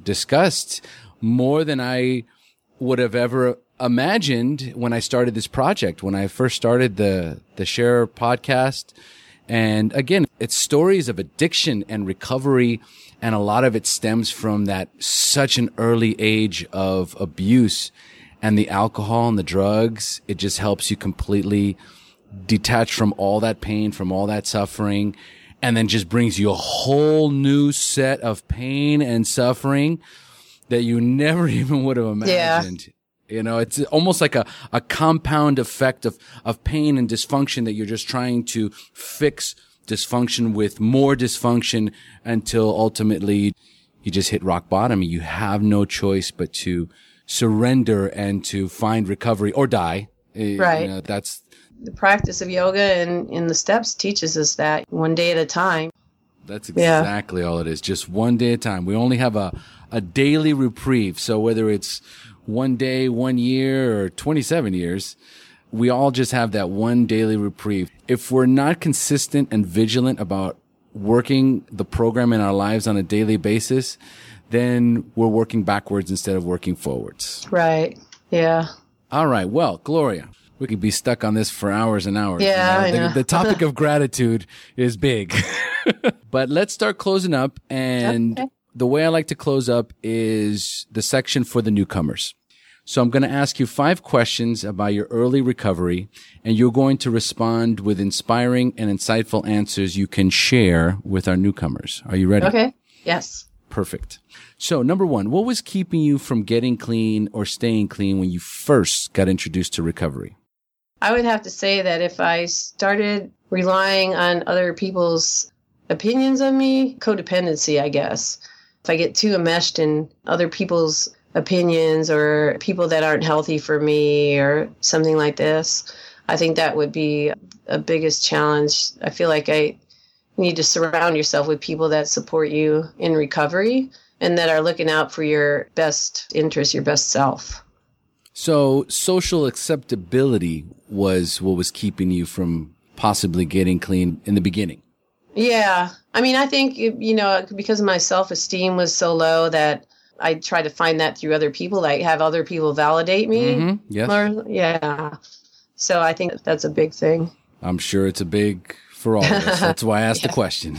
discussed more than I would have ever imagined when I started this project, when I first started the Share podcast. And again, it's stories of addiction and recovery. And a lot of it stems from that such an early age of abuse, and the alcohol and the drugs. It just helps you completely detach from all that pain, from all that suffering, and then just brings you a whole new set of pain and suffering that you never even would have imagined. You know, it's almost like a compound effect of pain and dysfunction that you're just trying to fix dysfunction with more dysfunction until ultimately you just hit rock bottom. You have no choice but to surrender and to find recovery or die. Right. You know, that's the practice of yoga and in the steps teaches us that one day at a time. That's exactly all it is. Just one day at a time. We only have a daily reprieve. So whether it's 1 day, 1 year, or 27 years, we all just have that one daily reprieve. If we're not consistent and vigilant about working the program in our lives on a daily basis, then we're working backwards instead of working forwards. Right. Yeah. All right. Well, Gloria, we could be stuck on this for hours and hours. Yeah, you know? I know. The topic of gratitude is big. But let's start closing up. And the way I like to close up is the section for the newcomers. So I'm going to ask you 5 questions about your early recovery, and you're going to respond with inspiring and insightful answers you can share with our newcomers. Are you ready? Okay. Yes. Perfect. So number 1, what was keeping you from getting clean or staying clean when you first got introduced to recovery? I would have to say that if I started relying on other people's opinions of me, codependency, I guess. If I get too enmeshed in other people's opinions or people that aren't healthy for me or something like this, I think that would be a biggest challenge. I feel like I need to surround yourself with people that support you in recovery and that are looking out for your best interest, your best self. So social acceptability was what was keeping you from possibly getting clean in the beginning. Yeah. I mean, I think, because my self-esteem was so low that I try to find that through other people, like have other people validate me. Mm-hmm. Yes. Yeah. So I think that's a big thing. I'm sure it's a big for all of us. That's why I asked the question.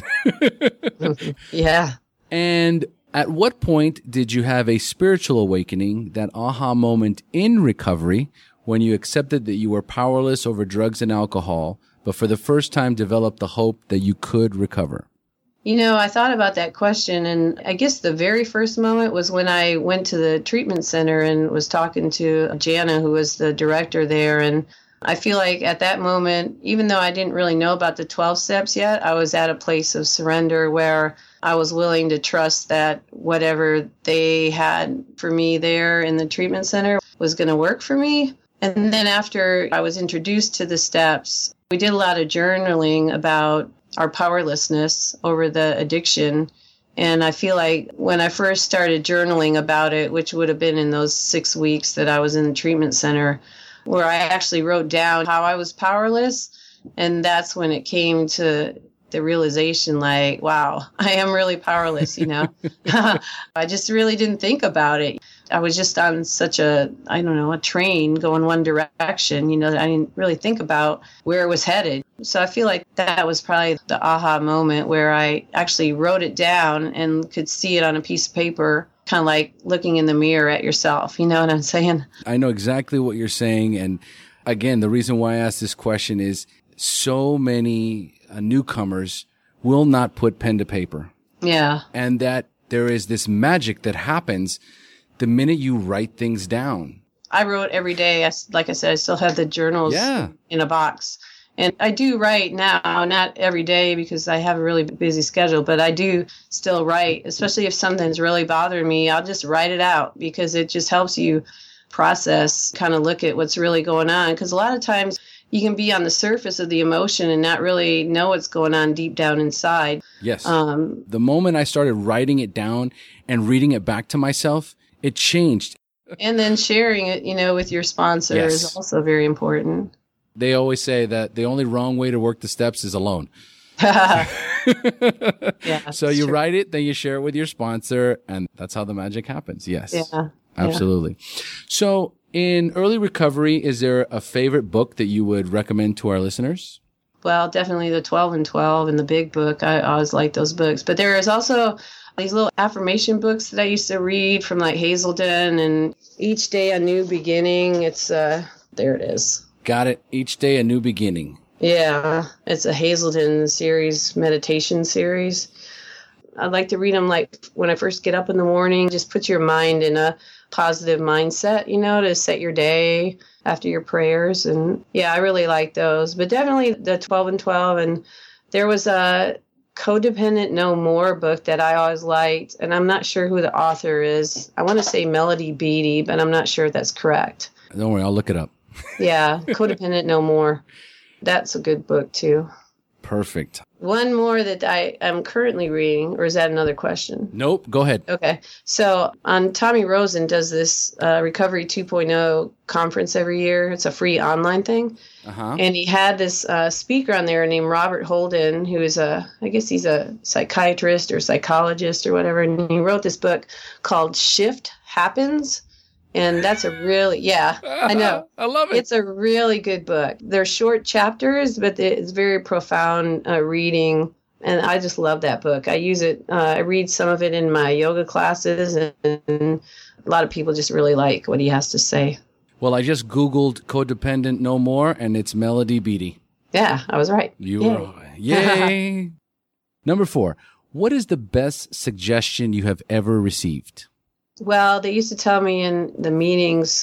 Yeah. And at what point did you have a spiritual awakening, that aha moment in recovery when you accepted that you were powerless over drugs and alcohol, but for the first time developed the hope that you could recover? I thought about that question, and I guess the very first moment was when I went to the treatment center and was talking to Jana, who was the director there. And I feel like at that moment, even though I didn't really know about the 12 steps yet, I was at a place of surrender where I was willing to trust that whatever they had for me there in the treatment center was going to work for me. And then after I was introduced to the steps, we did a lot of journaling about our powerlessness over the addiction. And I feel like when I first started journaling about it, which would have been in those 6 weeks that I was in the treatment center, where I actually wrote down how I was powerless. And that's when it came to the realization, like, wow, I am really powerless, I just really didn't think about it. I was just on such a train going one direction, that I didn't really think about where it was headed. So I feel like that was probably the aha moment where I actually wrote it down and could see it on a piece of paper, kind of like looking in the mirror at yourself. You know what I'm saying? I know exactly what you're saying. And again, the reason why I asked this question is so many newcomers will not put pen to paper. Yeah. And that there is this magic that happens the minute you write things down. I wrote every day. Like I said, I still have the journals in a box. And I do write now, not every day because I have a really busy schedule, but I do still write, especially if something's really bothering me. I'll just write it out because it just helps you process, kind of look at what's really going on. Because a lot of times you can be on the surface of the emotion and not really know what's going on deep down inside. Yes. The moment I started writing it down and reading it back to myself, it changed. And then sharing it, with your sponsor is also very important. They always say that the only wrong way to work the steps is alone. Yeah. So you write it, then you share it with your sponsor, and that's how the magic happens. Yes. Yeah. Absolutely. So in early recovery, is there a favorite book that you would recommend to our listeners? Well, definitely the 12 and 12 and the Big Book. I always like those books. But there is also these little affirmation books that I used to read from like Hazelden, and Each Day a New Beginning. It's, there it is. Got it. Each Day a New Beginning. Yeah. It's a Hazelden series, meditation series. I like to read them like when I first get up in the morning. Just put your mind in a positive mindset, to set your day after your prayers. And yeah, I really like those. But definitely the 12 and 12. And there was a Codependent No More book that I always liked. And I'm not sure who the author is. I want to say Melody Beattie, but I'm not sure if that's correct. Don't worry, I'll look it up. Yeah, Codependent No More. That's a good book too. Perfect. One more that I am currently reading, or is that another question? Nope. Go ahead. Okay. So Tommy Rosen does this Recovery 2.0 conference every year. It's a free online thing. Uh-huh. And he had this speaker on there named Robert Holden, who is I guess he's a psychiatrist or psychologist or whatever. And he wrote this book called Shift Happens. And that's a really, I know. I love it. It's a really good book. They're short chapters, but it's very profound reading. And I just love that book. I use it. I read some of it in my yoga classes, and a lot of people just really like what he has to say. Well, I just Googled Codependent No More, and it's Melody Beattie. Yeah, I was right. Yay. Number 4, what is the best suggestion you have ever received? Well, they used to tell me in the meetings,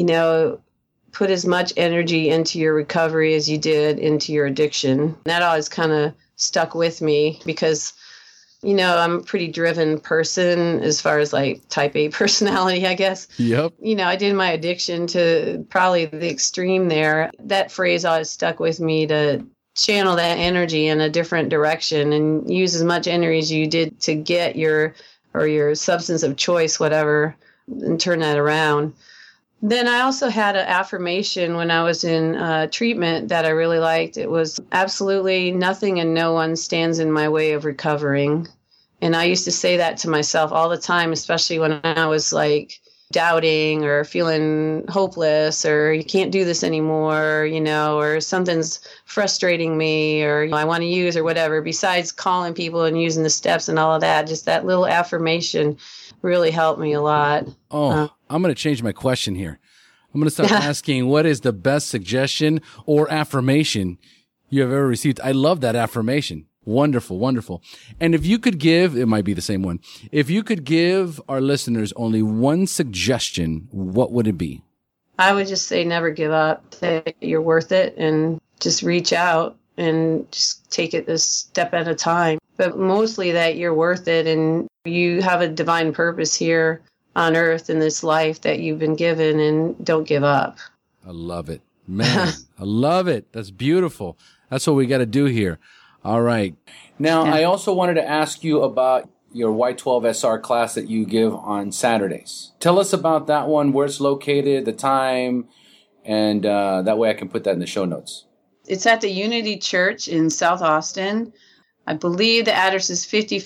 put as much energy into your recovery as you did into your addiction. That always kind of stuck with me because, I'm a pretty driven person as far as like type A personality, I guess. Yep. I did my addiction to probably the extreme there. That phrase always stuck with me to channel that energy in a different direction and use as much energy as you did to get your substance of choice, whatever, and turn that around. Then I also had an affirmation when I was in treatment that I really liked. It was absolutely nothing and no one stands in my way of recovering. And I used to say that to myself all the time, especially when I was like doubting or feeling hopeless or you can't do this anymore, or something's frustrating me or I want to use or whatever. Besides calling people and using the steps and all of that, just that little affirmation really helped me a lot. I'm going to change my question here. I'm going to start asking, what is the best suggestion or affirmation you have ever received? I love that affirmation. Wonderful, wonderful. And if you could give, it might be the same one. If you could give our listeners only one suggestion, what would it be? I would just say never give up, that you're worth it, and just reach out and just take it a step at a time. But mostly that you're worth it and you have a divine purpose here on earth in this life that you've been given, and don't give up. I love it. Man, I love it. That's beautiful. That's what we got to do here. All right. Now, I also wanted to ask you about your Y12SR class that you give on Saturdays. Tell us about that one, where it's located, the time, and that way I can put that in the show notes. It's at the Unity Church in South Austin. I believe the address is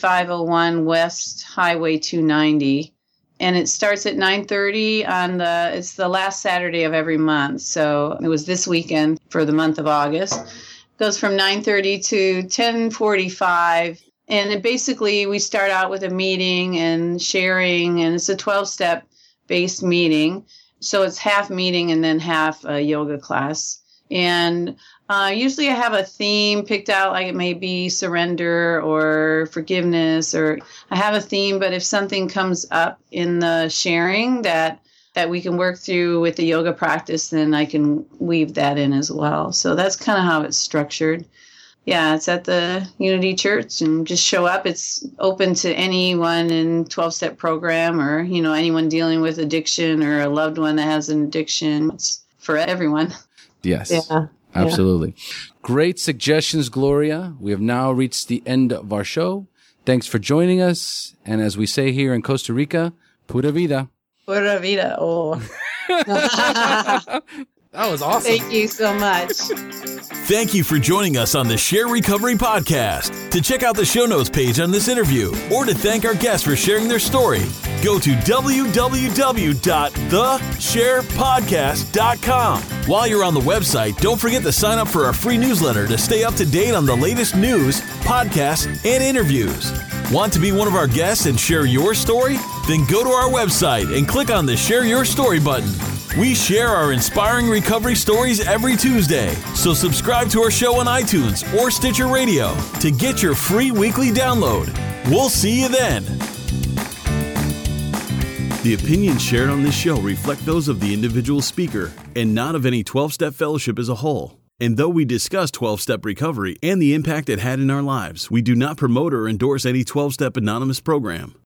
5501 West Highway 290. And it starts at 9:30 it's the last Saturday of every month. So it was this weekend for the month of August. Goes from 9:30 to 10:45. And basically we start out with a meeting and sharing, and it's a 12-step based meeting. So it's half meeting and then half a yoga class. And usually I have a theme picked out, like it may be surrender or forgiveness, or I have a theme, but if something comes up in the sharing that we can work through with the yoga practice, then I can weave that in as well. So that's kind of how it's structured. Yeah, it's at the Unity Church, and just show up. It's open to anyone in 12-step program, or, anyone dealing with addiction or a loved one that has an addiction. It's for everyone. Yes. Yeah. Absolutely. Yeah. Great suggestions, Gloria. We have now reached the end of our show. Thanks for joining us. And as we say here in Costa Rica, pura vida. Pura vida. Oh. That was awesome. Thank you so much. Thank you for joining us on the Share Recovery Podcast. To check out the show notes page on this interview or to thank our guests for sharing their story, go to www.thesharepodcast.com. While you're on the website, don't forget to sign up for our free newsletter to stay up to date on the latest news, podcasts, and interviews. Want to be one of our guests and share your story? Then go to our website and click on the Share Your Story button. We share our inspiring recovery stories every Tuesday, so subscribe to our show on iTunes or Stitcher Radio to get your free weekly download. We'll see you then. The opinions shared on this show reflect those of the individual speaker and not of any 12-Step Fellowship as a whole. And though we discuss 12-Step recovery and the impact it had in our lives, we do not promote or endorse any 12-Step Anonymous program.